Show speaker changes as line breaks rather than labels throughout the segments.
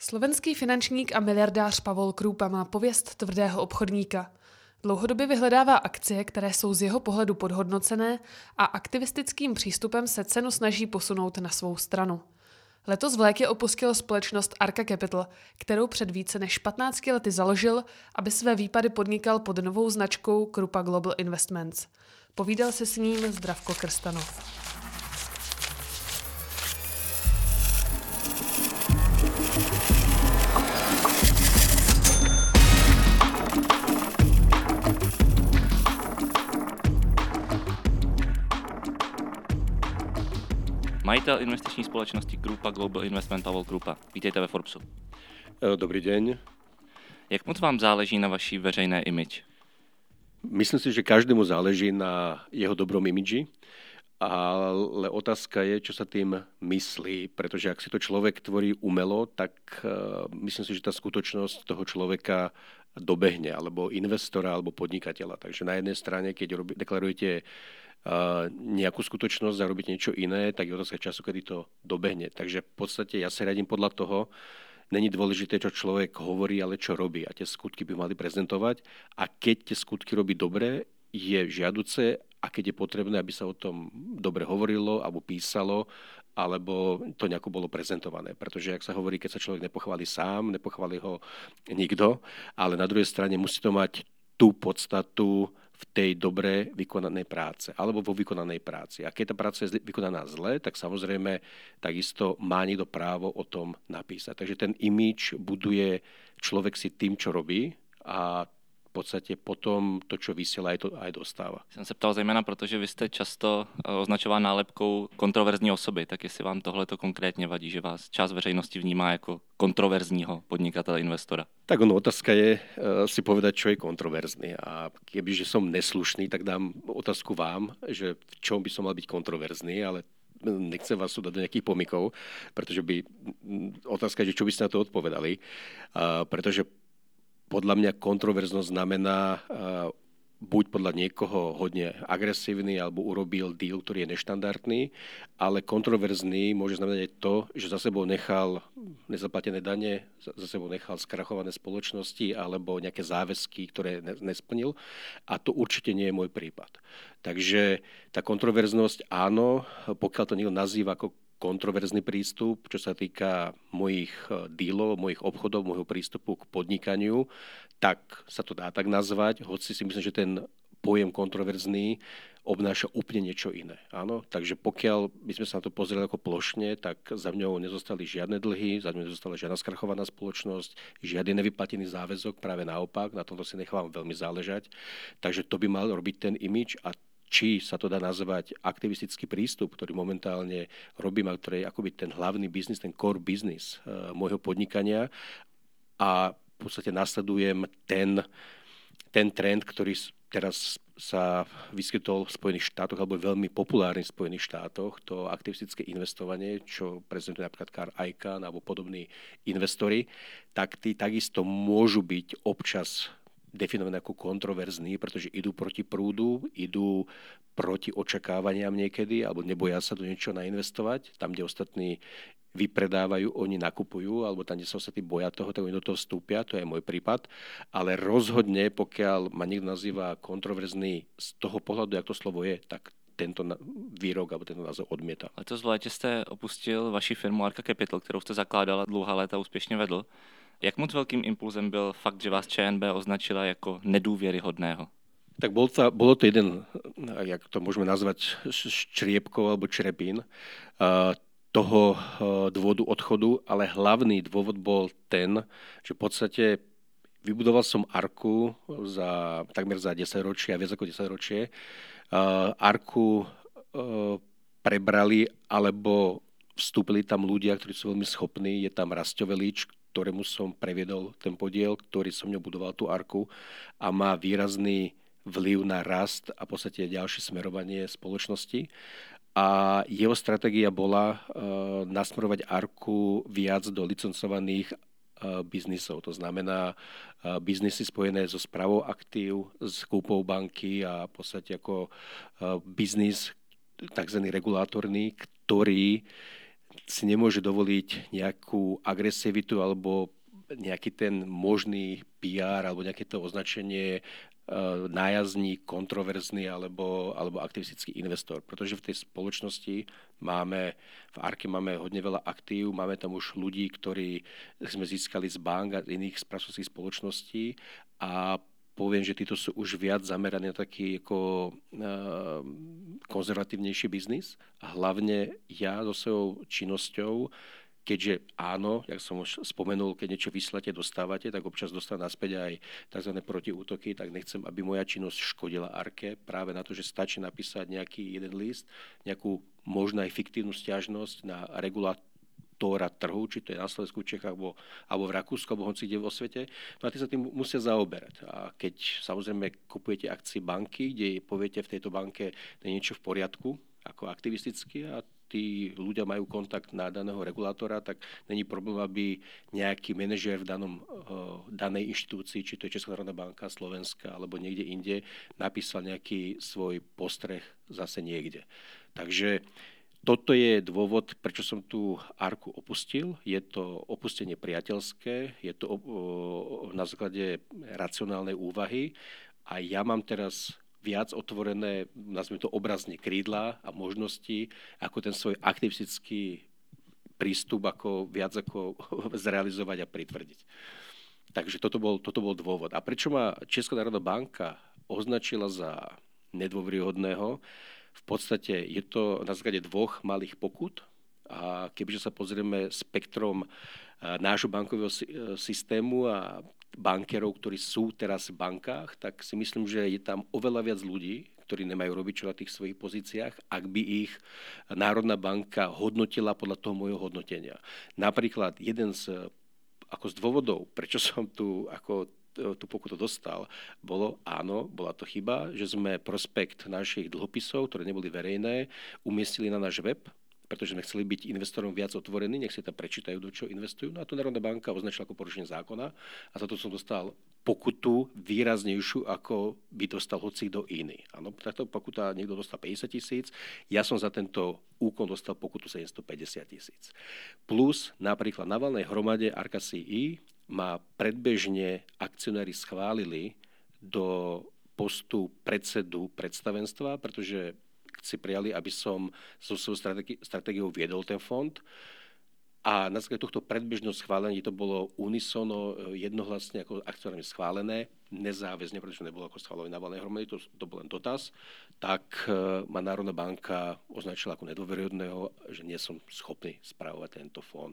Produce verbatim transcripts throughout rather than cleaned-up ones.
Slovenský finančník a miliardář Pavol Krúpa má pověst tvrdého obchodníka. Dlouhodobě vyhledává akcie, které jsou z jeho pohledu podhodnocené a aktivistickým přístupem se cenu snaží posunout na svou stranu. Letos v létě opustil společnost Arca Capital, kterou před více než patnácti lety založil, aby své výpady podnikal pod novou značkou Krupa Global Investments. Povídal se s ním Zdravko Krstanov.
Majitel investiční společnosti Krupa Global Investment Pavol Krúpa. Vítejte ve Forbesu.
Dobrý deň.
Jak moc vám záleží na vaší veřejné image?
Myslím si, že každému záleží na jeho dobrom imidži, ale otázka je, čo sa tým myslí, pretože ak si to človek tvorí umelo, tak uh, myslím si, že tá skutočnosť toho človeka dobehne, alebo investora, alebo podnikateľa. Takže na jednej strane, keď robí, deklarujete Uh, nejakú skutočnosť a robiť niečo iné, tak je otázka času, kedy to dobehne. Takže v podstate ja sa radím podľa toho, není dôležité, čo človek hovorí, ale čo robí. A tie skutky by mali prezentovať. A keď tie skutky robí dobre, je žiaduce, a keď je potrebné, aby sa o tom dobre hovorilo, alebo písalo, alebo to nejako bolo prezentované. Pretože, ak sa hovorí, keď sa človek nepochváli sám, nepochváli ho nikto, ale na druhej strane musí to mať tú podstatu v tej dobre vykonanej práce, alebo vo vykonanej práci. A keď tá práca je vykonaná zle, tak samozrejme takisto má niekto právo o tom napísať. Takže ten image buduje človek si tým, čo robí, a v podstate potom to, čo vysiela, aj, to, aj dostáva.
Jsem se ptal zejména, protože vy jste často označován nálepkou kontroverzní osoby, tak jestli vám tohleto konkrétně vadí, že vás část veřejnosti vnímá jako kontroverzního podnikatele, investora?
Tak ono, otázka je uh, si povedať, čo je kontroverzný. A kebyže som neslušný, tak dám otázku vám, že v čom by som mal byť kontroverzný, ale nechcem vás dať do nejakých pomykov, pretože by otázka je, čo by ste na to odpovedali. Uh, pretože podľa mňa kontroverznosť znamená uh, buď podľa niekoho hodne agresívny, alebo urobil deal, ktorý je neštandardný, ale kontroverzný môže znamenať aj to, že za sebou nechal nezaplatené dane, za sebou nechal skrachované spoločnosti alebo nejaké záväzky, ktoré nesplnil. A to určite nie je môj prípad. Takže tá kontroverznosť, áno, pokiaľ to niekto nazýva ako kontroverzný prístup, čo sa týka mojich dílov, mojich obchodov, môjho prístupu k podnikaniu, tak sa to dá tak nazvať, hoci si myslím, že ten pojem kontroverzný obnáša úplne niečo iné. Áno? Takže pokiaľ by sme sa na to pozreli ako plošne, tak za mňou nezostali žiadne dlhy, za mňou nezostala žiadna skrachovaná spoločnosť, žiadny nevyplatený záväzok, práve naopak, na tomto si nechám veľmi záležať. Takže to by mal robiť ten image, a či sa to dá nazvať aktivistický prístup, ktorý momentálne robím, a ktorý je akoby ten hlavný biznis, ten core business uh, môjho podnikania, a v podstate nasledujem ten, ten trend, ktorý teraz sa vyskytol v Spojených štátoch, alebo je veľmi populárny v Spojených štátoch, to aktivistické investovanie, čo prezentuje napríklad Carl Icahn alebo podobní investori, tak tí takisto môžu byť občas definované ako kontroverzní, pretože idú proti prúdu, idú proti očakávaniam niekedy, alebo neboja sa do niečo nainvestovať. Tam, kde ostatní vypredávajú, oni nakupujú, alebo tam, kde sa ostatní boja toho, tak oni do toho vstúpia, to je môj prípad. Ale rozhodne, pokiaľ ma niekto nazýva kontroverzný z toho pohľadu, jak to slovo je, tak tento výrok alebo tento názov odmietam.
Letos v létě jste opustil vaši firmu Arca Capital, kterou jste zakládal a dlouhá léta úspěšně vedl. Jak moc velkým impulzem byl fakt, že vás ČNB označila jako nedůvěryhodného?
Tak bol to, bolo to jeden, jak to môžeme nazvať, štriepkov alebo črepín toho dôvodu odchodu, ale hlavný dôvod bol ten, že v podstate vybudoval som Arku za takmer za desaťročie a viac ako desaťročie. Arku prebrali alebo vstúpili tam ľudia, ktorí sú veľmi schopní. Je tam Rastio Velič, ktorému som previedol ten podiel, ktorý som mňou budoval tú Arku, a má výrazný vplyv na rast a v podstate ďalšie smerovanie spoločnosti. A jeho stratégia bola uh, nasmerovať Arku viac do licencovaných uh, biznisov. To znamená uh, biznisy spojené so správou aktív, s kúpou banky a v podstate ako uh, biznis takzvaný regulátorný, ktorý si nemôže dovoliť nejakú agresivitu alebo nejaký ten možný pé er alebo nejaké to označenie nájazdník, kontroverzný alebo, alebo aktivistický investor. Pretože v tej spoločnosti máme, v Arke máme hodne veľa aktív, máme tam už ľudí, ktorí sme získali z bank a iných správcovských spoločností a poviem, že títo sú už viac zameraní na taký ako, uh, konzervatívnejší biznis. A hlavne ja so svojou činnosťou, keďže áno, jak som už spomenul, keď niečo vyslate, dostávate, tak občas dostanú naspäť aj tzv. Protiútoky, tak nechcem, aby moja činnosť škodila Arke práve na to, že stačí napísať nejaký jeden list, nejakú možno aj fiktívnu sťažnosť na regulátora trhu, či to je na Slovensku, Čechách, alebo, alebo v Rakúsku, alebo hoci kde vo svete, no a tí sa tým musia zaoberať. A keď samozrejme kupujete akcie banky, kde poviete v tejto banke, je niečo v poriadku, ako aktivisticky a tí ľudia majú kontakt na daného regulátora, tak není problém, aby nejaký manažér v danom, uh, danej inštitúcii, či to je Česká národná banka, Slovenská alebo niekde inde, napísal nejaký svoj postreh zase niekde. Takže toto je dôvod, prečo som tú Arku opustil. Je to opustenie priateľské, je to uh, na základe racionálnej úvahy a ja mám teraz viac otvorené, nazvime to obrazne, krídla a možnosti, ako ten svoj aktivistický prístup ako viac ako zrealizovať a pritvrdiť. Takže toto bol, toto bol dôvod. A prečo ma Česká národná banka označila za nedôveryhodného? V podstate je to na základe dvoch malých pokút. A kebyže sa pozrieme spektrom nášho bankového systému a bankerov, ktorí sú teraz v bankách, tak si myslím, že je tam oveľa viac ľudí, ktorí nemajú robiť čo na tých svojich pozíciách, ak by ich Národná banka hodnotila podľa toho môjho hodnotenia. Napríklad jeden z, ako z dôvodov, prečo som tu ako tú pokutu dostal, bolo, áno, bola to chyba, že sme prospekt našich dlhopisov, ktoré neboli verejné, umiestnili na náš web, pretože sme chceli byť investorom viac otvorení, nech si tam prečítajú, do čo investujú. No a tu Národná banka označila ako porušenie zákona a za to som dostal pokutu výraznejšiu, ako by dostal hoci kto iný. Áno, takto pokuta niekto dostal päťdesiat tisíc, ja som za tento úkon dostal pokutu sedemstopäťdesiat tisíc. Plus napríklad na valnej hromade Arka C I ma predbežne akcionári schválili do postu predsedu predstavenstva, pretože si prijali, aby som so svojou strategi- stratégiou viedol ten fond. A na základe tohto predbežného schválenia to bolo unisono jednohlasne ako akcionármi schválené, nezáväzne, pretože nebolo ako schválené na valnej hromade, to, to bol len dotaz, tak uh, ma Národná banka označila ako nedôveryhodného, že nie som schopný správovať tento fond.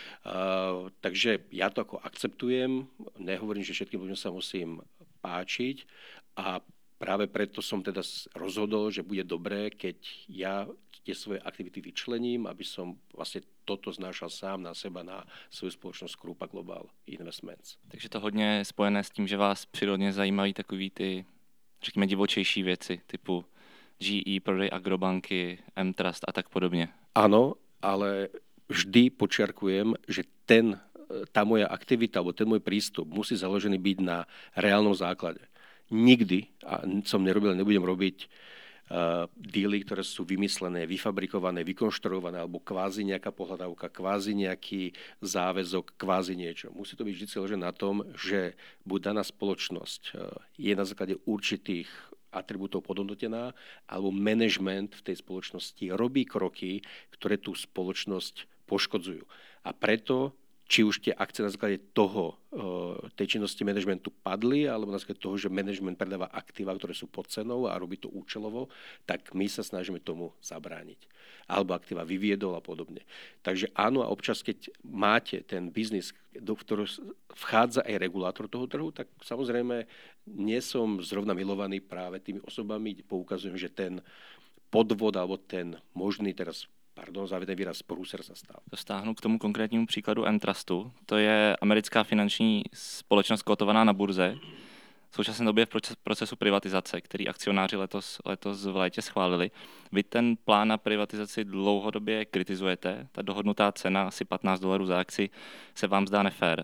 Uh, takže ja to ako akceptujem, nehovorím, že všetkým ľuďom sa musím páčiť a práve preto som teda rozhodol, že bude dobré, keď ja tie svoje aktivity vyčlením, aby som vlastne toto znášal sám na seba, na svoju spoločnosť Krupa Global Investments.
Takže to hodně spojené s tím, že vás přirodně zajímají takový ty, řekněme, divočejší věci, typu G E, prodej agrobanky, M-Trust a tak podobně.
Áno, ale vždy počiarkujem, že ten, tá moja aktivita, alebo ten môj prístup musí založený byť na reálnom základe. Nikdy, a som nerobil, nebudem robiť uh, díly, ktoré sú vymyslené, vyfabrikované, vykonštruované, alebo kvázi nejaká pohľadávka, kvázi nejaký záväzok, kvázi niečo. Musí to byť vždy založené na tom, že buď daná spoločnosť uh, je na základe určitých atribútov podhodnotená, alebo management v tej spoločnosti robí kroky, ktoré tú spoločnosť poškodzujú. A preto či už tie akcie na základe toho, tej činnosti manažmentu padli, alebo na základe toho, že management predáva aktíva, ktoré sú pod cenou a robí to účelovo, tak my sa snažíme tomu zabrániť. Alebo aktíva vyviedol a podobne. Takže áno, a občas, keď máte ten biznis, do ktorého vchádza aj regulátor toho trhu, tak samozrejme nie som zrovna milovaný práve tými osobami, kde poukazujem, že ten podvod alebo ten možný teraz Pardon, závěrný výraz, průser se stal.
To stáhnu k tomu konkrétnímu příkladu M-Trustu. To je americká finanční společnost kotovaná na burze. V současné době v procesu privatizace, který akcionáři letos, letos v létě schválili. Vy ten plán na privatizaci dlouhodobě kritizujete. Ta dohodnutá cena, asi patnáct dolarů za akci, se vám zdá nefér.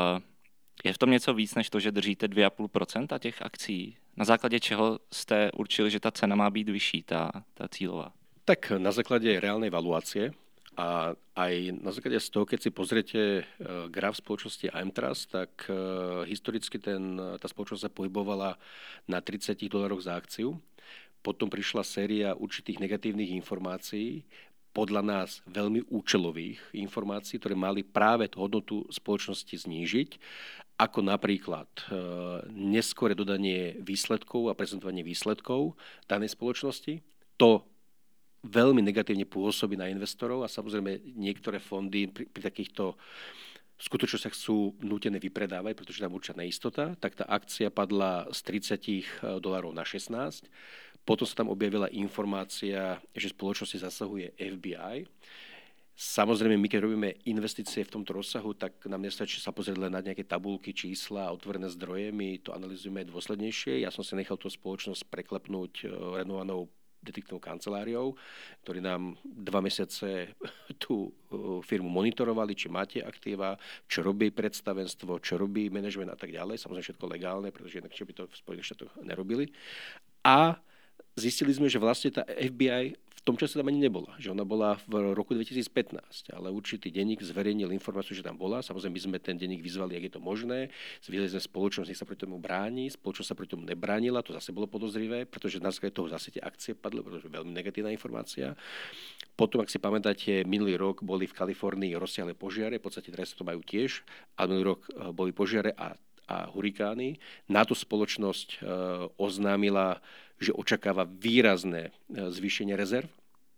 Je v tom něco víc, než to, že držíte dvě celá pět procenta těch akcí? Na základě čeho jste určili, že ta cena má být vyšší, ta, ta cílová?
Tak na základe reálnej valuácie A aj na základe z toho, keď si pozriete graf spoločnosti Aimtrust, tak historicky ten, tá spoločnosť sa pohybovala na tridsať dolároch za akciu. Potom prišla séria určitých negatívnych informácií, podľa nás veľmi účelových informácií, ktoré mali práve hodnotu spoločnosti znížiť, ako napríklad neskore dodanie výsledkov a prezentovanie výsledkov danej spoločnosti. To veľmi negatívne pôsobí na investorov a samozrejme niektoré fondy pri, pri takýchto skutočnostiach sú nútené vypredávať, pretože tam určitá neistota, tak tá akcia padla z tridsať dolárov na šestnásť. Potom sa tam objavila informácia, že spoločnosti zasahuje ef bí aj. Samozrejme, my keď robíme investície v tomto rozsahu, tak nám nestačí sa pozrieť len na nejaké tabulky, čísla a otvorené zdroje, my to analyzujeme dôslednejšie. Ja som si nechal tú spoločnosť preklepnúť renovovanou detektívnou kanceláriou, ktorí nám dva mesiace tú firmu monitorovali, či máte aktíva, čo robí predstavenstvo, čo robí manažment a tak ďalej. Samozrejme všetko legálne, pretože inak by to v Spojených štátoch nerobili. A zistili sme, že vlastne tá ef bí aj v tom čase tam ani nebola, že ona bola v roku dvetisícpätnásť, ale určitý denník zverejnil informáciu, že tam bola. Samozrejme, my sme ten denník vyzvali, jak je to možné. Zvideli sme spoločnosť, nech sa proti tomu bráni. Spoločnosť sa proti tomu nebránila, to zase bolo podozrivé, pretože na základe toho zase tie akcie padli, pretože veľmi negatívna informácia. Potom, ak si pamätáte, minulý rok boli v Kalifornii rozsiahle požiare, v podstate teraz to majú tiež, ale minulý rok boli požiare a a hurikány. Na to spoločnosť e, oznámila, že očakáva výrazné e, zvýšenie rezerv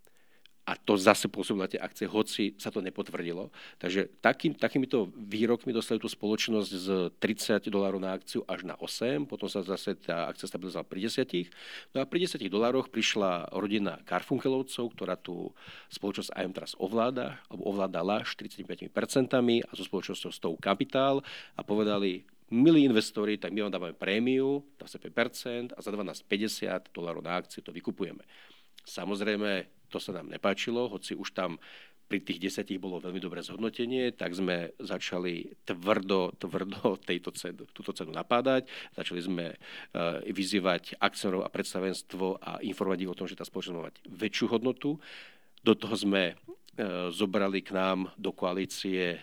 a to zase pôsobilo na tie akcie, hoci sa to nepotvrdilo. Takže takým, takýmito výrokmi dostali tú spoločnosť z tridsať dolárov na akciu až na osem, potom sa zase tá akcia stabilizovala pri desať. No a pri desať dolároch prišla rodina Garfunkelovcov, ktorá tú spoločnosť Aimtrust ovláda, alebo ovládala štyridsaťpäť percent a so spoločnosťou Stow Capital a povedali: milí investori, tak my vám dávame prémiu, dvadsaťpäť percent a za dvanásť päťdesiat dolárov na akciu to vykupujeme. Samozrejme, to sa nám nepáčilo, hoci už tam pri tých desiatich bolo veľmi dobré zhodnotenie, tak sme začali tvrdo, tvrdo tejto cenu, túto cenu napádať. Začali sme uh, vyzývať akcionárov a predstavenstvo a informovať ich o tom, že tá spoločnosť má mať väčšiu hodnotu. Do toho sme zobrali k nám do koalície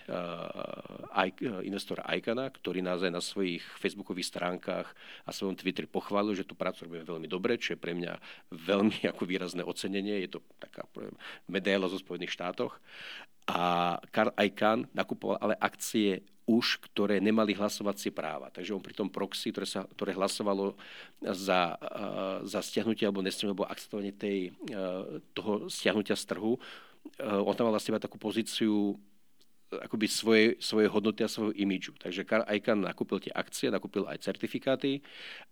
investora Icana, ktorý nás aj na svojich facebookových stránkach a svojom Twitteri pochválil, že tú prácu robíme veľmi dobre, čo je pre mňa veľmi ako výrazné ocenenie. Je to taká medaila zo Spojených štátoch. A Carl Icahn nakupoval ale akcie už, ktoré nemali hlasovacie práva. Takže on pri tom proxy, ktoré, sa, ktoré hlasovalo za, za stiahnutie alebo nestiahnutie, alebo akceptovanie tej, toho stiahnutia z trhu, on tam mal vlastne takú pozíciu akoby svojej, svojej hodnoty a svojho imidžu. Takže Carl Icahn nakúpil tie akcie, nakúpil aj certifikáty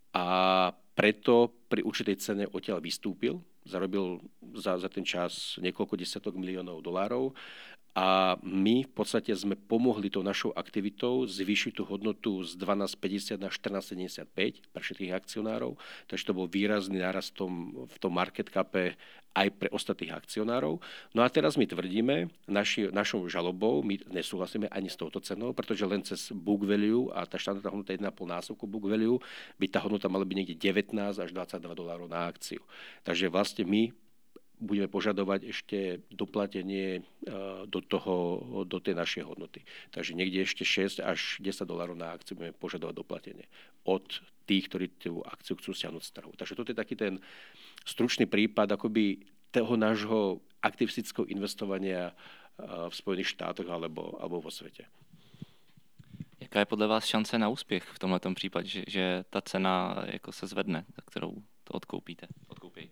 a preto pri určitej cene odtiaľ vystúpil. Zarobil za, za ten čas niekoľko desiatok miliónov dolárov a my v podstate sme pomohli tou našou aktivitou zvýšiť tú hodnotu z dvanásť päťdesiat na štrnásť sedemdesiatpäť pre všetkých akcionárov. Takže to bol výrazný nárast v tom, v tom market cape aj pre ostatných akcionárov. No a teraz my tvrdíme, naši, našou žalobou, my nesúhlasíme ani s touto cenou, pretože len cez book value a tá štandardná hodnota jeden a pol násobku book value by tá hodnota mala byť niekde devätnásť až dvadsaťdva dolárov na akciu. Takže vlastne my budeme požadovať ešte doplatenie do, toho, do tej našej hodnoty. Takže niekde ešte šesť až desať dolárov na akciu budeme požadovať doplatenie od tých, ktorí tú akciu chcú stiahnuť z trhu. Takže toto je taký ten stručný prípad akoby toho nášho aktivistického investovania v Spojených štátoch alebo, alebo vo svete.
Jaká je podle vás šance na úspěch v tomhletom případě, že, že ta cena jako se zvedne, za kterou to odkoupíte? Odkoupí?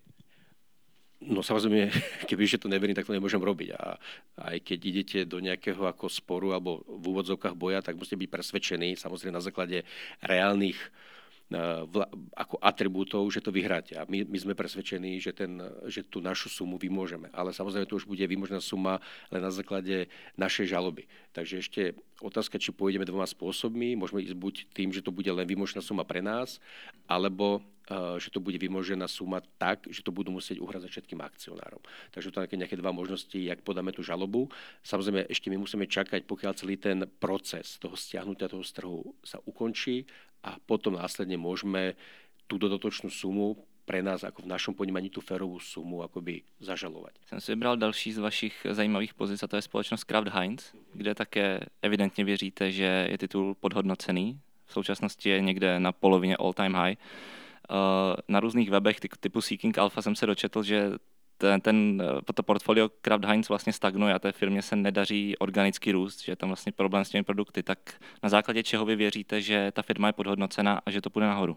No samozrejme, kebyže to neverím, tak to nemôžem robiť. A aj keď idete do nejakého ako sporu alebo v úvodzovkách boja, tak musíte byť presvedčení, samozrejme na základe reálnych vla, ako atribútov, že to vyhráte. A my, my sme presvedčení, že, ten, že tú našu sumu vymôžeme. Ale samozrejme to už bude vymožená suma len na základe našej žaloby. Takže ešte otázka, či pôjdeme dvoma spôsobmi. Môžeme ísť buď tým, že to bude len vymožená suma pre nás, alebo že to bude vymožená suma tak, že to budú musieť uhradzať všetkým akcionárom. Takže to sú nejaké dva možnosti, jak podáme tú žalobu. Samozrejme, ešte my musíme čakať, pokiaľ celý ten proces toho stiahnutia toho z trhu sa ukončí a potom následne môžeme tú dodatočnú sumu pre nás, ako v našom ponímaní, tú férovú sumu akoby zažalovať.
Jsem si vybral další z vašich zajímavých pozic, a to je společnost Kraft Heinz, kde také evidentně věříte, že je titul podhodnocený. V současnosti je někde na polovině all time high. Na různých webech typu Seeking Alpha jsem se dočetl, že ten, ten, to portfolio Kraft Heinz vlastně stagnuje a té firmě se nedaří organický růst, že je tam vlastně problém s těmi produkty. Tak na základě čeho vy věříte, že ta firma je podhodnocená a že to půjde nahoru?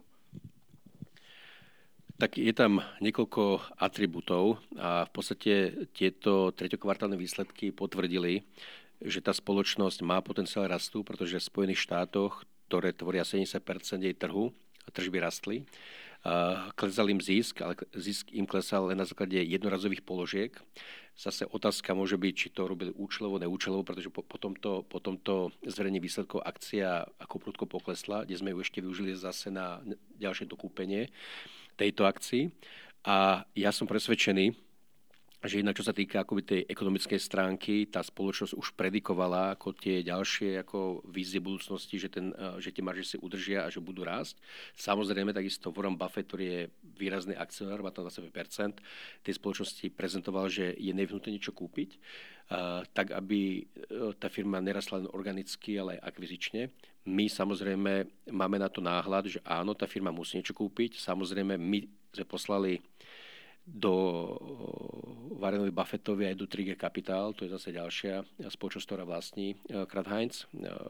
Tak je tam niekoľko atribútov a v podstate tieto treťokvartálne výsledky potvrdili, že tá spoločnosť má potenciál rastu, pretože v Spojených štátoch, ktoré tvoria sedemdesiat percent jej trhu, tržby rastli. Klesal im zisk, ale zisk im klesal len na základe jednorazových položiek. Zase otázka môže byť, či to robili účelovo, neúčelovo, pretože po, po tomto, po tomto zverejnení výsledkov akcia ako prudko poklesla, kde sme ju ešte využili zase na ďalšie dokúpenie tejto akcii. A ja som presvedčený, že inak čo sa týka akoby tej ekonomickej stránky, tá spoločnosť už predikovala ako tie ďalšie ako vízie budúcnosti, že, ten, že tie marže si udržia a že budú rásť. Samozrejme, takisto Warren Buffett, ktorý je výrazný akcionár, má tam dvadsaťpäť percent, tej spoločnosti prezentoval, že je nevyhnutné niečo kúpiť, tak aby tá firma nerastla len organicky, ale aj akvizične. My samozrejme máme na to náhľad, že áno, tá firma musí niečo kúpiť. Samozrejme, my sme poslali do Warrenovi Buffettovi aj do tri gé Capital, to je zase ďalšia spoločnosť, ktorá vlastní Kraft Heinz,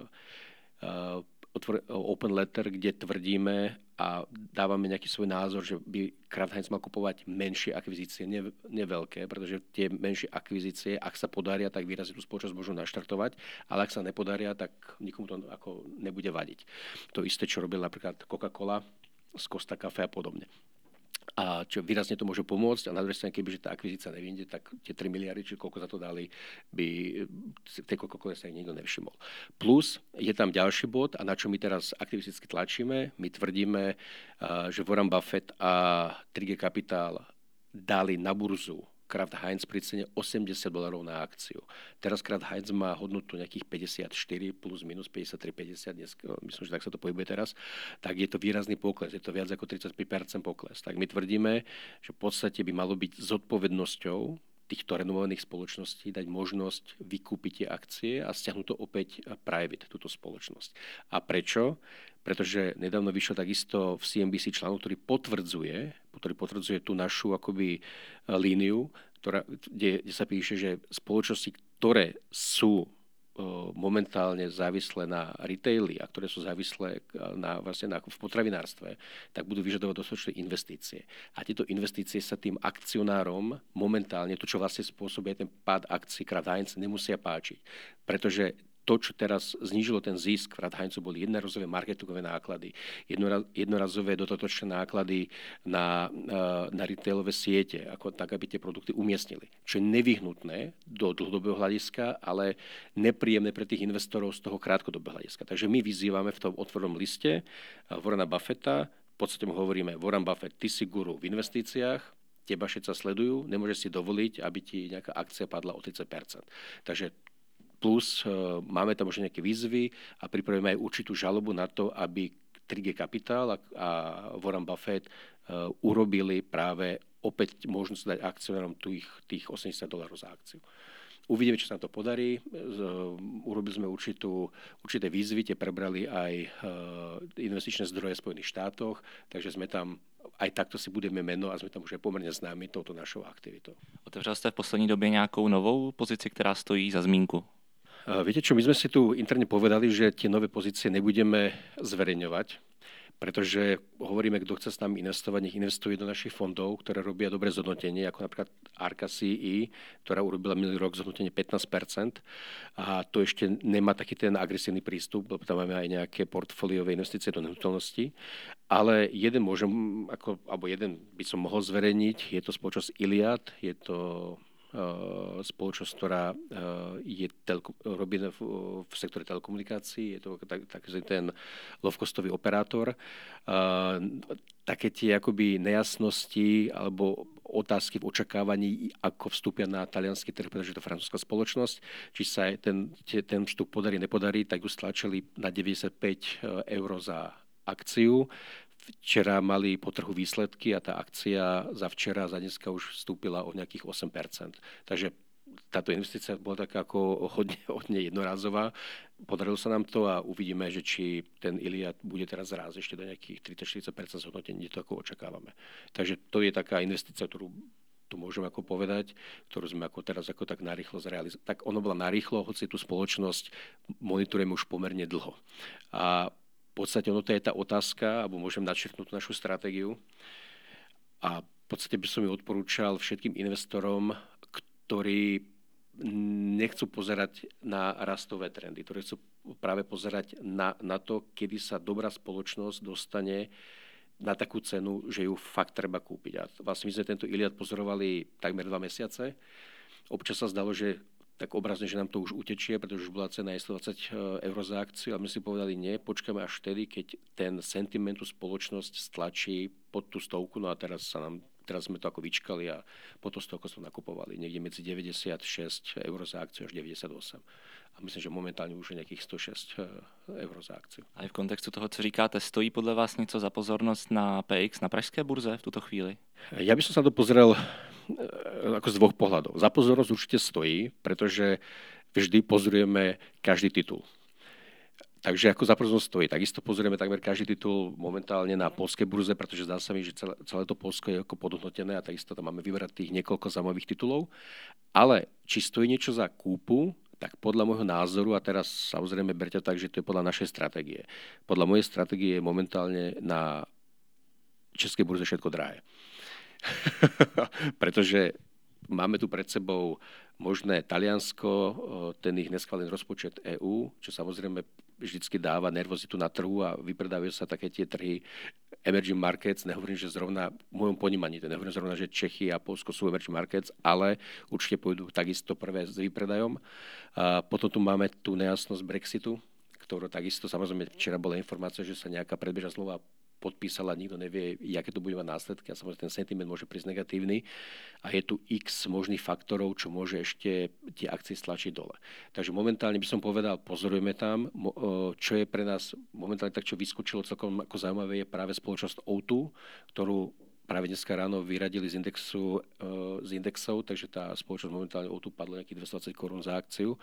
open letter, kde tvrdíme a dávame nejaký svoj názor, že by Kraft Heinz mal kupovať menšie akvizície, ne, ne veľké, pretože tie menšie akvizície, ak sa podaria, tak výrazne tú spoločnosť môžu naštartovať, ale ak sa nepodaria, tak nikomu to ako nebude vadiť. To isté, čo robil napríklad Coca-Cola z Costa Café a podobne. A čo výrazne to môže pomôcť. A na druhej strane, kebyže tá akvizícia nevyjde, tak tie tri miliardy, či koľko za to dali, by tej Coca-Cola sa nikto nevšimol. Plus je tam ďalší bod, a na čo my teraz aktivisticky tlačíme. My tvrdíme, že Warren Buffett a tri gé Capital dali na burzu Kraft Heinz pri cene osemdesiat dolárov na akciu. Teraz Kraft Heinz má hodnotu nejakých päťdesiatštyri plus minus päťdesiattri päťdesiat, dnes, myslím, že tak sa to pohybuje teraz, tak je to výrazný pokles, je to viac ako tridsaťpäť percent pokles. Tak my tvrdíme, že v podstate by malo byť zodpovednosťou týchto renovovaných spoločností dať možnosť vykúpiť tie akcie a stiahnuť to opäť private, túto spoločnosť. A prečo? Pretože nedávno vyšiel takisto v C N B C článok, ktorý potvrdzuje, ktorý potvrdzuje tú našu akoby líniu, ktorá, kde, kde sa píše, že spoločnosti, ktoré sú momentálne závislé na retaili a ktoré sú závislé na, vlastne na, v potravinárstve, tak budú vyžadovať dostatočné investície. A tieto investície sa tým akcionárom momentálne, to čo vlastne spôsobuje ten pád akcií Kraft Heinz, nemusia páčiť. Pretože to, čo teraz znížilo ten zisk Kraft Heinzu, boli jednorazové marketingové náklady, jednorazové dodatočné náklady na, na retailové siete, ako tak, aby tie produkty umiestnili. Čo je nevyhnutné do dlhodobého hľadiska, ale nepríjemné pre tých investorov z toho krátkodobého hľadiska. Takže my vyzývame v tom otvorenom liste Warrena Buffetta, v podstate mu hovoríme, Warren Buffett, ty si guru v investíciách, teba všetci sledujú, nemôžeš si dovoliť, aby ti nejaká akcia padla o tridsať percent. Takže plus máme tam už nejaké výzvy a pripravíme aj určitú žalobu na to, aby tri gé Capital a, a Warren Buffett uh, urobili práve opäť možnosť dať akcionárom tých, tých osemdesiat dolárov za akciu. Uvidíme, či sa nám to podarí. Urobili sme určitú, určité výzvy, tie prebrali aj uh, investičné zdroje v Spojených štátoch, takže sme tam aj takto si budeme meno a sme tam už aj pomerne známi touto našou aktivitou.
Otevřel jste v poslední době nějakou novou pozici, která stojí za zmínku?
Viete čo, my sme si tu interne povedali, že tie nové pozície nebudeme zverejňovať, pretože hovoríme, kto chce s nami investovať, nech investuje do našich fondov, ktoré robia dobré zhodnotenie, ako napríklad Arca C E, ktorá urobila minulý rok zhodnotenie pätnásť percent a to ešte nemá taký ten agresívny prístup, lebo tam máme aj nejaké portfóliové investície do nehnuteľnosti, ale jeden môžem, ako, alebo jeden by som mohol zverejniť, je to spoločnosť Iliad, je to spoločnosť, ktorá je telko, robí v, v sektore telekomunikácií, je to tak, taký ten low-costový operátor. Také tie akoby nejasnosti alebo otázky v očakávaní, ako vstúpia na taliansky trh, pretože je to francúzska spoločnosť, či sa ten, ten vstup podarí, nepodarí, tak ju stlačili na deväťdesiatpäť eur za akciu. včera mali po trhu výsledky a tá akcia za včera, za dneska už vstúpila o nejakých osem percent. Takže táto investícia bola taká ako hodne, hodne jednorázová. Podarilo sa nám to a uvidíme, že či ten Iliad bude teraz rásť ešte do nejakých tridsať až štyridsať percent zhodnotení, to ako očakávame. Takže to je taká investícia, ktorú tu môžem ako povedať, ktorú sme ako teraz ako tak narýchlo zrealizovali. Tak ono bola narýchlo, hoci tú spoločnosť monitorujeme už pomerne dlho. A v podstate ono to je tá otázka, alebo môžem načrtnúť našu stratégiu. A v podstate by som ju odporúčal všetkým investorom, ktorí nechcú pozerať na rastové trendy, ktorí chcú práve pozerať na, na to, kedy sa dobrá spoločnosť dostane na takú cenu, že ju fakt treba kúpiť. A vlastne my sme tento Iliad pozorovali takmer dva mesiace. Občas sa zdalo, že tak obrazne, že nám to už utečie, pretože už bola cena stodvadsať eur za akciu a my si povedali, nie, počkáme až vtedy, keď ten sentiment tú spoločnosť stlačí pod tú stovku, no a teraz sa nám Teraz sme to ako vyčkali a potom z toho sme nakupovali niekde medzi deväťdesiatšesť eur za akciu až deväťdesiatosem. A myslím, že momentálne už je nejakých sto šesť eur za akciu.
A v kontextu toho, co říkáte, stojí podle vás něco za pozornost na P X, na pražské burze v tuto chvíli?
Ja by som sa to pozrel ako z dvoch pohľadov. Za pozornosť určite stojí, pretože vždy pozorujeme každý titul. Takže ako za pozornosť stojí. Takisto pozrieme takmer každý titul momentálne na poľskej burze, pretože zdá sa mi, že celé, celé to Poľsko je ako podhodnotené a takisto tam máme vyberať tých niekoľko zaujímavých titulov. Ale či stojí niečo za kúpu, tak podľa môjho názoru, a teraz samozrejme berte tak, že to je podľa našej stratégie. Podľa mojej stratégie je momentálne na českej burze všetko drahé. Pretože máme tu pred sebou možné Taliansko, ten ich neschválený rozpočet é ú, čo samozrejme vždycky dáva nervozitu na trhu a vypredávajú sa také tie trhy emerging markets. Nehovorím, že zrovna v môjom ponímaní, to nehovorím zrovna, že Čechy a Poľsko sú emerging markets, ale určite pôjdu takisto prvé s výpredajom. A potom tu máme tú nejasnosť Brexitu, ktorú takisto, samozrejme včera bola informácia, že sa nejaká predbežná zmluva podpísala, nikto nevie, aké to bude mať následky a samozrejme ten sentiment môže prísť negatívny a je tu x možných faktorov, čo môže ešte tie akcie stlačiť dole. Takže momentálne by som povedal, pozorujeme tam, čo je pre nás momentálne tak, čo vyskočilo celkom ako zaujímavé, je práve spoločnosť ó dva, ktorú práve dneska ráno vyradili z, indexu, z indexov, takže tá spoločnosť momentálne ó dva padla nejakých dvestodvadsať korún za akciu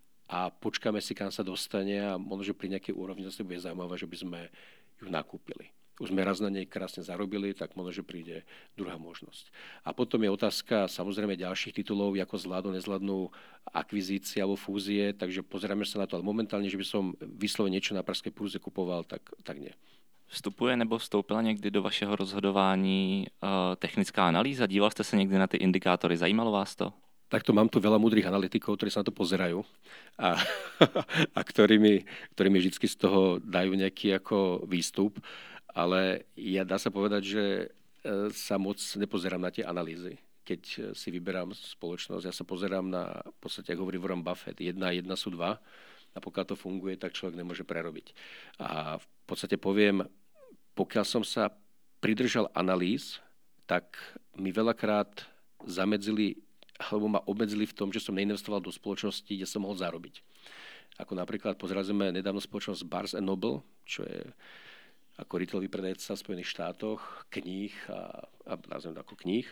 a počkáme si, kam sa dostane a možno, že pri nejakej úrovni zase bude zaujímavé, že by sme ju nakúpili. Už sme raz na nej krásne zarobili, tak možno, že príde druhá možnosť. A potom je otázka samozrejme ďalších titulov, ako zvládnu, nezvládnu akvizície alebo fúzie, takže pozeráme sa na to. Ale momentálne, že by som vyslovene niečo na pražskej burze kupoval, tak, tak nie.
Vstupuje nebo vstoupila někdy do vašeho rozhodování uh, technická analýza? Díval jste se někdy na ty indikátory? Zajímalo vás to?
Takto mám tu veľa múdrych analytikov, ktorí sa na to pozerajú a, a ktorí, mi, ktorí mi vždy z toho dajú nejaký ako výstup. Ale ja dá sa povedať, že sa moc nepozerám na tie analýzy. Keď si vyberám spoločnosť, ja sa pozerám na, v podstate, ako hovorí Warren Buffett, jedna a jedna sú dva a pokiaľ to funguje, tak človek nemôže prerobiť. A v podstate poviem, pokiaľ som sa pridržal analýz, tak mi veľakrát zamedzili alebo ma obmedzili v tom, že som neinvestoval do spoločnosti, kde som mohol zarobiť. Ako napríklad pozerali sme nedávno spoločnosť Barnes and Noble, čo je ako retailový predajca v Spojených štátoch, kníh a, a nazvem to ako kníh.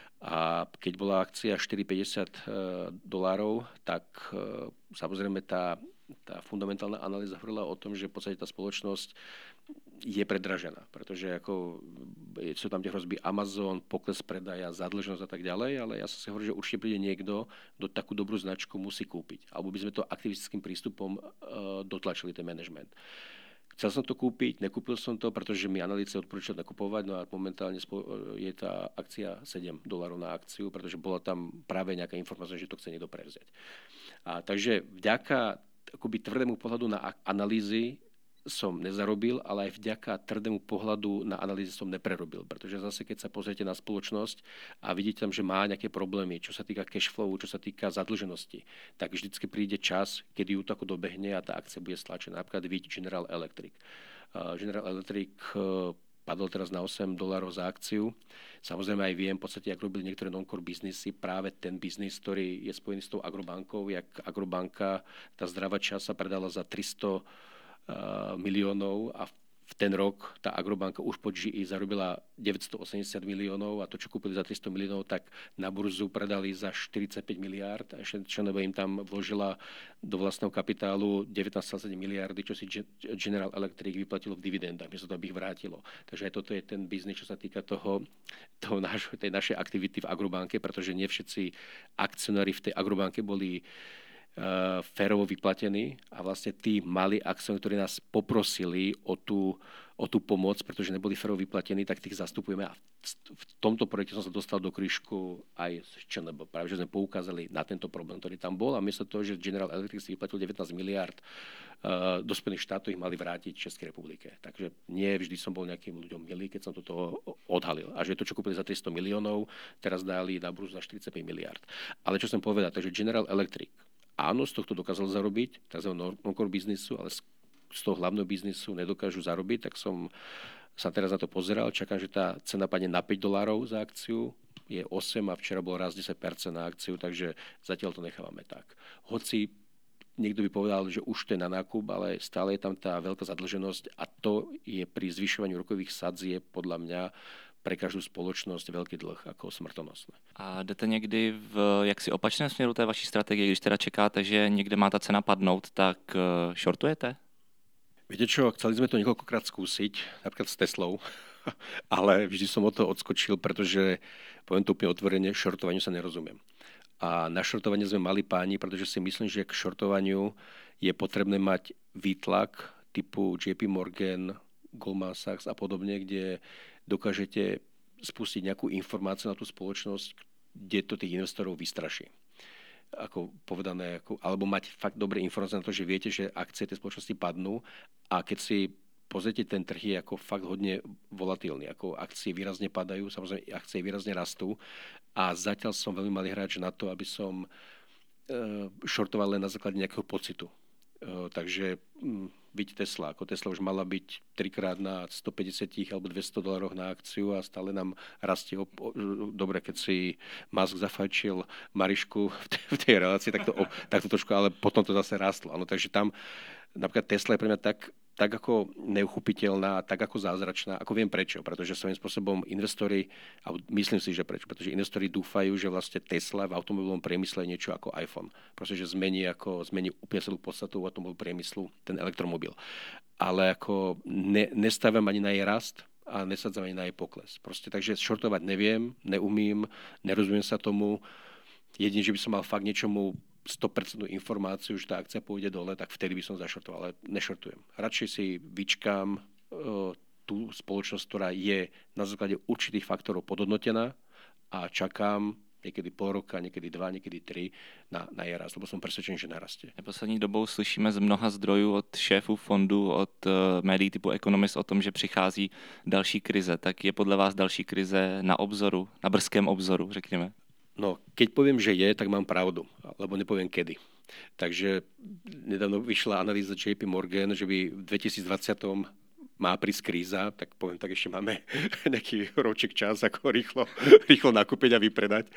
A keď bola akcia štyri päťdesiat dolárov, tak samozrejme tá, tá fundamentálna analýza hovorila o tom, že v podstate tá spoločnosť je predražená, pretože ako sú tam tie hrozby Amazon, pokles predaja, zadlženosť a tak ďalej, ale ja som si hovoril, že určite príde niekto, kto takú dobrú značku musí kúpiť. Alebo by sme to aktivistickým prístupom uh, dotlačili ten management. Chcel som to kúpiť, nekúpil som to, pretože mi analýci odporúčali nakupovať, no a momentálne je tá akcia sedem dolárov na akciu, pretože bola tam práve nejaká informácia, že to chce niekto prevziať. A takže vďaka akoby tvrdému pohľadu na analýzy som nezarobil, ale aj vďaka tvrdému pohľadu na analýzy som neprerobil. Pretože zase, keď sa pozriete na spoločnosť a vidíte tam, že má nejaké problémy, čo sa týka cash flow, čo sa týka zadlženosti, tak vždycky príde čas, kedy ju to ako dobehne a tá akcia bude stlačená. Napríklad vidíte General Electric. Uh, General Electric uh, padol teraz na osem dolárov za akciu. Samozrejme aj viem, v podstate, ak robili niektoré non-core biznisy, práve ten biznis, ktorý je spojený s tou Agrobankou, jak Agrobanka, tá zdravá časť sa predala za tristo miliónov a v ten rok tá Agrobanka už po G E zarobila deväťstoosemdesiat miliónov a to, čo kúpili za tristo miliónov, tak na burzu predali za štyridsaťpäť miliárd a ešte Čenova im tam vložila do vlastného kapitálu devätnásť celá sedem miliardy, čo si General Electric vyplatilo v dividendách, miesto toho, aby ich vrátilo. Takže aj toto je ten biznis, čo sa týka toho, toho náš, tej našej aktivity v Agrobanke, pretože nie všetci akcionári v tej Agrobanke boli Uh, férovo vyplatení a vlastne tí malí akcionári, ktorí nás poprosili o tú, o tú pomoc, pretože neboli férovo vyplatení, tak tých zastupujeme a v tomto projekte som sa dostal do krížku aj z ČNB. Práve, že sme poukázali na tento problém, ktorý tam bol a miesto toho, že General Electric si vyplatil devätnásť miliárd uh, do Spojených štátov, ich mali vrátiť Českej republike. Takže nie vždy som bol nejakým ľuďom milý, keď som toto odhalil. A že to, čo kúpili za tristo miliónov, teraz dali na burzu za štyridsaťpäť miliárd. Ale čo som povedal, takže General Electric áno, z tohto dokázal zarobiť, tzv. non-core biznisu, ale z toho hlavného biznisu nedokážu zarobiť, tak som sa teraz na to pozeral. Čakám, že tá cena padne na päť dolárov za akciu, je osem a včera bol raz desať percent na akciu, takže zatiaľ to nechávame tak. Hoci niekto by povedal, že už to je na nákup, ale stále je tam tá veľká zadlženosť a to je pri zvyšovaní úrokových sadzie podľa mňa pre každú spoločnosť veľký dlh ako smrtonosné.
A jdete někdy v jaksi opačném směru té vaší strategie, když teda čekáte, že někde má ta cena padnout, tak shortujete?
Viete čo, chceli sme to niekoľkokrát skúsiť, napríklad s Teslou, ale vždy som od toho odskočil, pretože, poviem to úplne otvorene, shortovaniu sa nerozumiem. A na shortovanie sme mali páni, pretože si myslím, že k shortovaniu je potrebné mať výtlak typu J P Morgan, Goldman Sachs a podobne, kde dokážete spustiť nejakú informáciu na tú spoločnosť, kde to tých investorov vystraší. Ako povedané, ako, alebo mať fakt dobré informácie na to, že viete, že akcie tej spoločnosti padnú a keď si pozrite, ten trh je ako fakt hodne volatilný. Ako akcie výrazne padajú, samozrejme akcie výrazne rastú a zatiaľ som veľmi malý hráč na to, aby som e, shortoval len na základe nejakého pocitu. E, takže m, byť Tesla. Ako Tesla už mala byť trikrát na stopäťdesiat alebo dvesto dolárov na akciu a stále nám rastie. Op- Dobre, keď si Musk zafajčil Marišku v tej, v tej relácii, tak to, tak to trošku, ale potom to zase rastlo. Ano, takže tam napríklad Tesla je pre mňa tak, tak ako neuchopiteľná, tak ako zázračná, ako viem prečo, pretože svojím spôsobom investori, a myslím si, že prečo, pretože investori dúfajú, že vlastne Tesla v automobilovom priemysle je niečo ako iPhone, pretože zmení, ako, zmení úplne celú podstatu automobilovom priemyslu, ten elektromobil. Ale ako ne, nestavím ani na jej rast a nesadzam ani na jej pokles. Proste, takže shortovať neviem, neumím, nerozumiem sa tomu. Jedine, že by som mal fakt niečomu sto percent informáciu, že tá akcia pôjde dole, tak vtedy by som zašortoval, ale nešortujem. Radšej si vyčkám uh, tú spoločnosť, ktorá je na základe určitých faktorov podhodnotená a čakám niekedy pol roka, niekedy dva, niekedy tri na, na jej rast, lebo som presvedčený, že narastie.
Poslední dobou slyšíme z mnoha zdrojů od šéfů fondů, od uh, médií typu Economist o tom, že přichází další krize. Tak je podle vás další krize na obzoru, na brzkém obzoru, řekněme?
No, keď poviem, že je, tak mám pravdu, lebo nepoviem kedy. Takže nedávno vyšla analýza J P Morgan, že by v dvetisícdvadsať má prísť kríza, tak poviem, tak ešte máme nejaký roček čas, ako rýchlo, rýchlo nakúpiť a vypredať.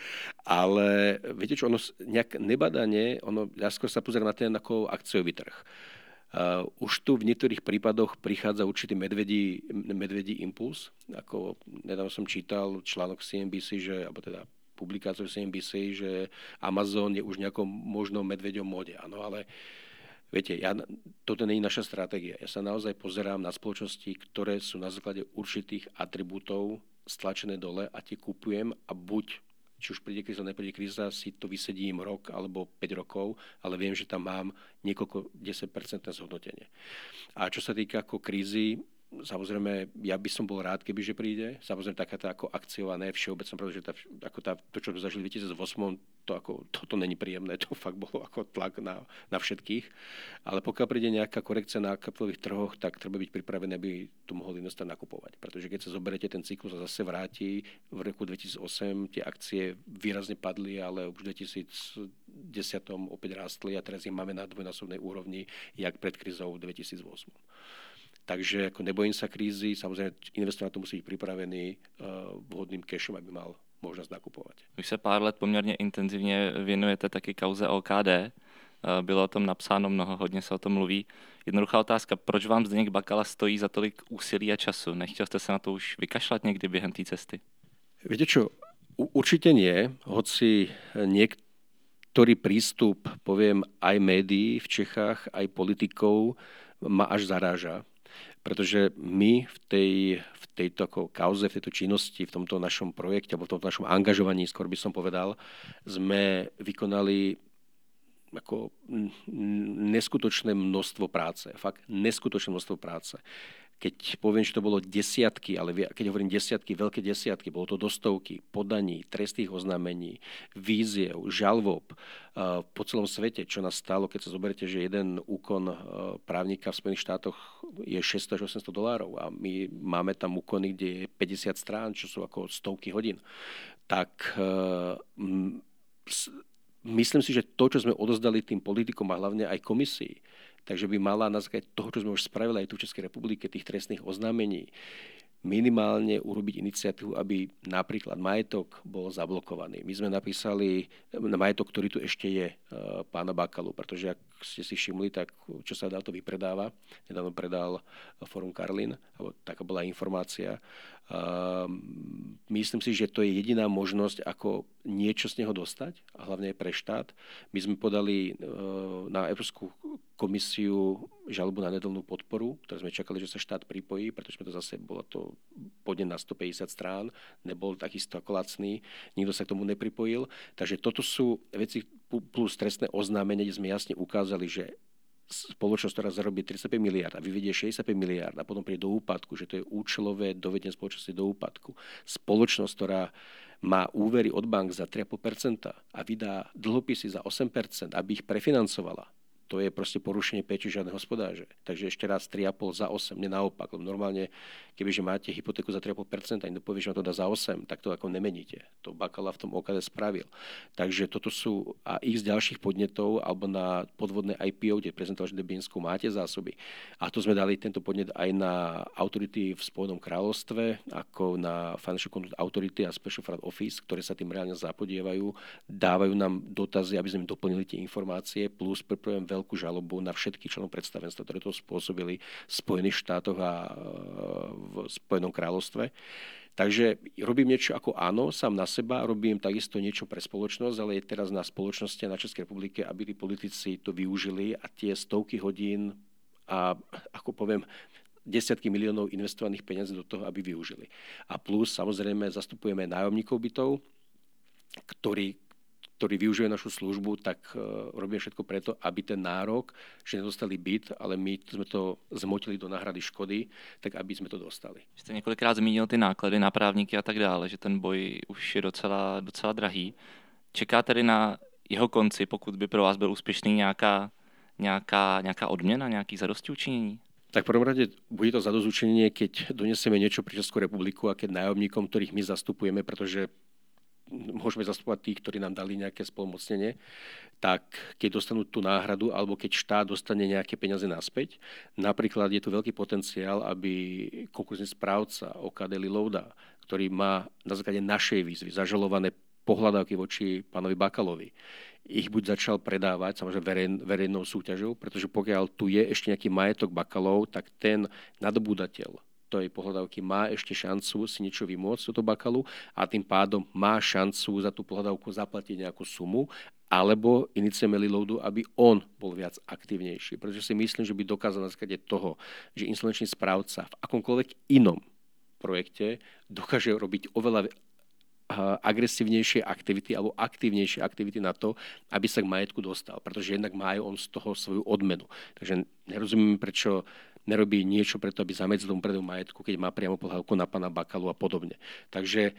Ale viete čo, ono nejak nebadanie, ono, ja skôr sa pozerám na ten ako akciový trh. Uh, už tu v niektorých prípadoch prichádza určitý medvedí, medvedí impuls. Ako nedávno som čítal článok C N B C, že, alebo teda publikáciu C N B C, že Amazon je už nejakom možno medveďom móde. Áno, ale viete, ja, toto nie je naša stratégia. Ja sa naozaj pozerám na spoločnosti, ktoré sú na základe určitých atribútov stlačené dole a tie kupujem a buď, či už príde kríza, nepríde kríza, si to vysedím rok alebo päť rokov, ale viem, že tam mám niekoľko desať percent zhodnotenie. A čo sa týka ako krízy, samozrejme, ja by som bol rád, kebyže príde. Samozrejme, taká tá ako akciová, ne všeobecná, pretože tá, ako tá, to, čo sme zažili v dvetisícosem, to ako, toto není príjemné, to fakt bolo ako tlak na, na všetkých. Ale pokiaľ príde nejaká korekcia na kapitálových trhoch, tak treba byť pripravený, aby tu mohol investor nakupovať. Pretože keď sa zoberete, ten cyklus a zase vráti, v roku dvetisícosem tie akcie výrazne padli, ale už v dvetisícdesať opäť rástli a teraz ich máme na dvojnásobnej úrovni, jak pred krízou v dvetisícosem. Takže ako nebojím sa krízy, samozrejme investor na to musí byť pripravený uh, vhodným cashom, aby mal možnosť nakupovať.
Už se pár let poměrně intenzivně věnujete taky kauze O K D. Bylo o tom napsáno mnoho, hodně se o tom mluví. Jednoduchá otázka, proč vám Zdeněk Bakala stojí za tolik úsilí a času? Nechtěl jste se na to už vykašľať někdy během té cesty?
Viete čo, určite nie, hoci niektorý prístup, poviem, aj médií v Čechách, aj politikov ma až zaráža. Pretože my v, tej, v tejto ako kauze, v tejto činnosti, v tomto našom projekte, alebo v tomto našom angažovaní, skôr by som povedal, sme vykonali ako neskutočné množstvo práce. Fakt neskutočné množstvo práce. Keď poviem, že to bolo desiatky, ale keď hovorím desiatky, veľké desiatky, bolo to do stovky podaní, trestných oznámení, víziev, žalvob po celom svete, čo nás stálo, keď sa zoberiete, že jeden úkon právnika v Spojených štátoch je šesťsto až osemsto dolárov a my máme tam úkony, kde je päťdesiat strán, čo sú ako stovky hodín. Tak myslím si, že to, čo sme odozdali tým politikom a hlavne aj komisii, takže by mala na základe toho, čo sme už spravili aj tu v Českej republike, tých trestných oznámení, minimálne urobiť iniciatívu, aby napríklad majetok bol zablokovaný. My sme napísali na majetok, ktorý tu ešte je, pána Bakalu, pretože ak ste si všimli, tak čo sa dá, to vypredáva. Nedávno predal Forum Karlin, alebo taká bola informácia. Myslím si, že to je jediná možnosť, ako niečo z neho dostať, a hlavne aj pre štát. My sme podali na Európsku komisiu žalobu na nedelnú podporu, ktoré sme čakali, že sa štát pripojí, pretože sme to zase, bola to podnet na stopäťdesiat strán, nebol takisto ako lacný, nikto sa k tomu nepripojil. Takže toto sú veci plus trestné oznámenie, kde sme jasne ukázali, že spoločnosť, ktorá zarobí tridsaťpäť miliárd a vyvedie šesťdesiatpäť miliárd a potom príde do úpadku, že to je účelové dovedenie spoločnosti do úpadku. Spoločnosť, ktorá má úvery od bank za tri celé päť percenta a vydá dlhopisy za osem percent, aby ich prefinancovala, to je proste porušenie péči žiadneho hospodáře. Takže ešte raz tri celé päť za osem, nie naopak. Lebo normálne, kebyže máte hypotéku za tri celé päť percenta a niekto povie, že vám to dá za osem, tak to ako nemeníte. To Bakala v tom ó ká dé spravil. Takže toto sú a ich z ďalších podnetov, alebo na podvodné í pé ó, kde prezentoval, že Debínsku máte zásoby. A to sme dali tento podnet aj na autority v Spojenom kráľovstve, ako na Financial Conduct Authority a Special Fraud Office, ktoré sa tým reálne zapodievajú, dávajú nám dotazy, aby sme im doplnili tie informácie, plus pripravujem veľkú žalobu na všetkých členov predstavenstva, ktoré to spôsobili v Spojených štátoch a v Spojenom kráľovstve. Takže robím niečo ako áno, sám na seba, robím takisto niečo pre spoločnosť, ale je teraz na spoločnosti a na Českej republike, aby tí politici to využili a tie stovky hodín a, ako poviem, desiatky miliónov investovaných peniazí do toho, aby využili. A plus, samozrejme, zastupujeme nájomníkov bytov, ktorí ktorí využívajú našu službu, tak uh, robíme všetko preto, aby ten nárok, že nedostali byt, ale my sme to zmotili do náhrady škody, tak aby jsme to dostali.
Jste několikrát zmínil ty náklady na právníky a tak dále, že ten boj už je docela, docela drahý. Čeká tedy na jeho konci, pokud by pro vás byl úspěšný, nějaká, nějaká, nějaká odměna, nějaký zadostiučinění?
Tak v prvom rade bude to zadozučinenie, keď donesieme niečo pre Českú republiku a keď nájomníkom, ktorých my zastupujeme, pretože môžeme zastupovať tých, ktorí nám dali nejaké spolumocnenie, tak keď dostanú tú náhradu, alebo keď štát dostane nejaké peniaze naspäť, napríklad je tu veľký potenciál, aby konkurzný správca ó ká dé Lilouda, ktorý má na základe našej výzvy zažalované pohľadávky voči pánovi Bakalovi, ich buď začal predávať, samozrejme verej, verejnou súťažou, pretože pokiaľ tu je ešte nejaký majetok Bakalov, tak ten nadobúdateľ tej pohľadávky má ešte šancu si niečo vymôcť do Bakalu a tým pádom má šancu za tú pohľadávku zaplatiť nejakú sumu, alebo iniciujeme Liloudu, aby on bol viac aktívnejší. Pretože si myslím, že by dokázal na základe toho, že insolvenčný správca v akomkoľvek inom projekte dokáže robiť oveľa agresívnejšie aktivity alebo aktívnejšie aktivity na to, aby sa k majetku dostal. Pretože jednak má aj on z toho svoju odmenu. Takže nerozumiem, prečo nerobí niečo preto, aby zamedzil tomu predajú majetku, keď má priamo pohľadku na pána Bakalu a podobne. Takže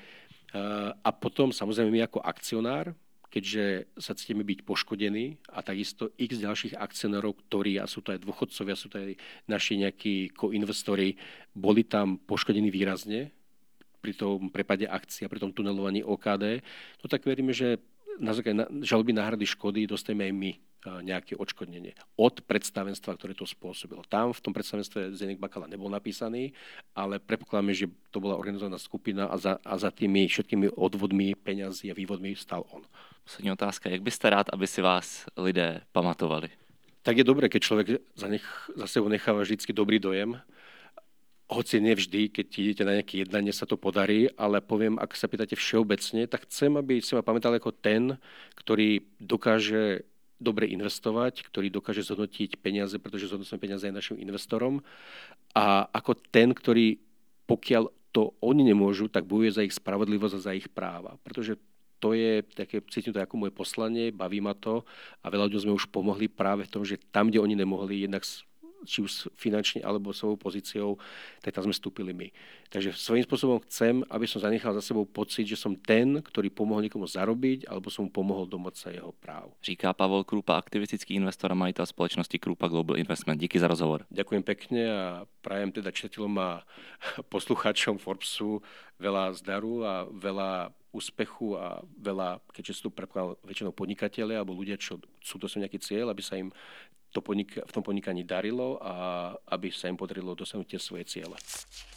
a potom samozrejme my ako akcionár, keďže sa cítime byť poškodení a takisto x ďalších akcionárov, ktorí, a sú to aj dôchodcovia, sú to aj naši nejakí koinvestori, boli tam poškodení výrazne pri tom prepade akcií a pri tom tunelovaní ó ká dé, no tak veríme, že na základe žaloby náhrady škody dostaneme aj my nejaké odškodnenie od predstavenstva, ktoré to spôsobilo. Tam v tom predstavenstve Zdeněk Bakala nebol napísaný, ale predpokladáme, že to bola organizovaná skupina a za, a za tými všetkými odvodmi peňazí a vývodmi stál on.
Poslední otázka. Jak byste rád, aby si vás lidé pamatovali?
Tak je dobré, keď človek za, nech, za sebou necháva vždycky dobrý dojem. Hoci nevždy, keď idete na nejaké jednanie, sa to podarí, ale poviem, ak sa pýtate všeobecne, tak chcem, aby si ma pamätali ako ten, ktorý dokáže dobre investovať, ktorý dokáže zhodnotiť peniaze, pretože zhodnotíme peniaze aj našim investorom. A ako ten, ktorý, pokiaľ to oni nemôžu, tak bojuje za ich spravodlivosť a za ich práva. Pretože to je také, cítim to ako moje poslanie, baví ma to a veľa ľuďom sme už pomohli práve v tom, že tam, kde oni nemohli, jednak či už finančne alebo svojou pozíciou, tak tam sme vstúpili my. Takže svojím spôsobom chcem, aby som zanechal za sebou pocit, že som ten, ktorý pomohol niekomu zarobiť, alebo som mu pomohol domôcť sa jeho práv.
Říká Pavol Krúpa, aktivistický investor a majitel spoločnosti Krúpa Global Investment. Díky za rozhovor.
Ďakujem pekne a prajem teda čitateľom a poslucháčom Forbesu veľa zdaru a veľa úspechu a veľa, keďže sú tu väčšinou podnikatelia alebo ľudia, čo sú to nejaký cieľ, aby sa im to podnik- v tom podnikaní darilo a aby sa im podarilo dosiahnuť tie svoje ciele.